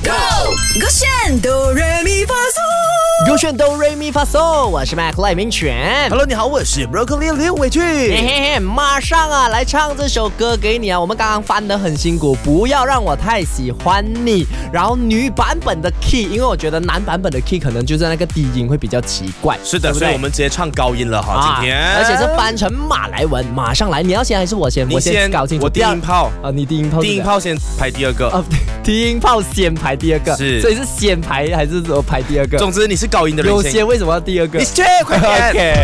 Go， 勾选哆来咪发嗦， 勾选哆来咪发嗦，我是 Mac 赖明全。 Hello， 你好，我是 Broccoli 刘伟俊。 嘿嘿嘿，马上啊，来唱这首歌给你啊！我们刚刚翻得很辛苦，不要让我太喜欢你。然后女版本的 key， 因为我觉得男版本的 key 可能就是那个低音会比比较奇怪。 是的， 对不对， 所以我们直接唱高音了哈，今天。 而且是翻成马来文，马上来，你要先还是我先？ 你先搞清楚。 我低音炮啊，你低音炮。 低音炮先排第二个。 低音炮先排第二个， 是， 所以是先排还是说排第二个？ 总之你是高音的人， 有些为什么要第二个？ 你去快点。 OK。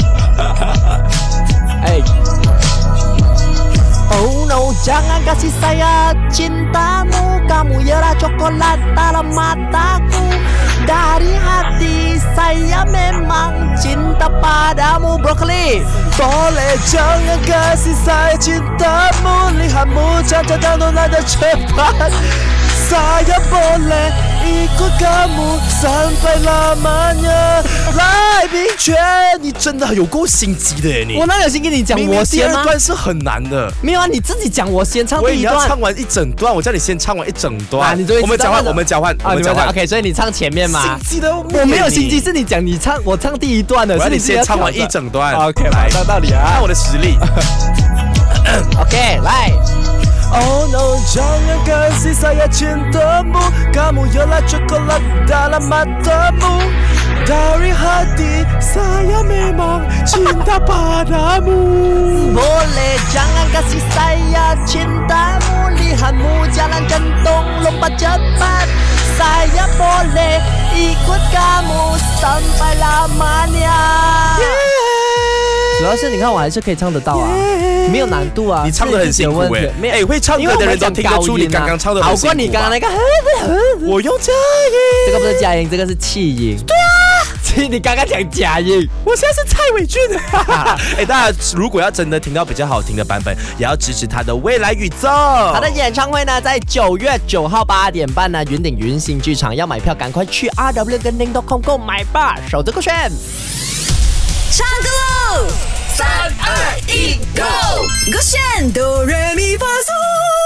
哎。Oh no, jangan kasih saya cintamu, kamu ialah coklat dalam mataku. Dari hati saya memang cinta padamu, Broccoli. Boleh jangan kasih saya cintamu, lihatmu cantik dan nada cepat. Saya boleh ikut kamu sampai lamanya。赖明全，你真的有够心机的耶你！ 我哪有心跟你讲我先吗？ 第二段是很难的。 没有啊，你自己讲我先唱第一段。 我也要唱完一整段，我叫你先唱完一整段。 啊，你我们交换，我们交换，我们交换。 OK， 所以你唱前面嘛。 心机的， 我没有心机，是你讲你唱，我唱第一段的，是你先唱完一整段。 OK， 来，到道理啊， 看我的实力。 OK， 来。 Oh no, jangan kasih saya cintamu, kamu ialah coklat dalam matamu. Dari hati saya memang cinta padamu. Boleh jangan kasih saya cintamu, lihatmu jalan jantung lompat cepat. Saya boleh ikut kamu sampai lamanya. 主要是你看我还是可以唱得到啊，没有难度啊。 你唱得很辛苦哎，会唱歌的人都听得出你刚刚唱得很辛苦。 好过你刚刚那个。 我用假音， 这个不是假音，这个是气音。对啊，你刚刚讲假音， 我现在是蔡伟俊。哎，大家如果要真的听到比较好听的版本，也要支持他的未来宇宙。 他的演唱会呢，在9月9号8点半呢，云顶云星剧场，要买票赶快去 RW 跟 Ning.com 购买吧，守着勾选。 唱歌喽！3、2、1，Go！ 勾选哆来咪发嗦。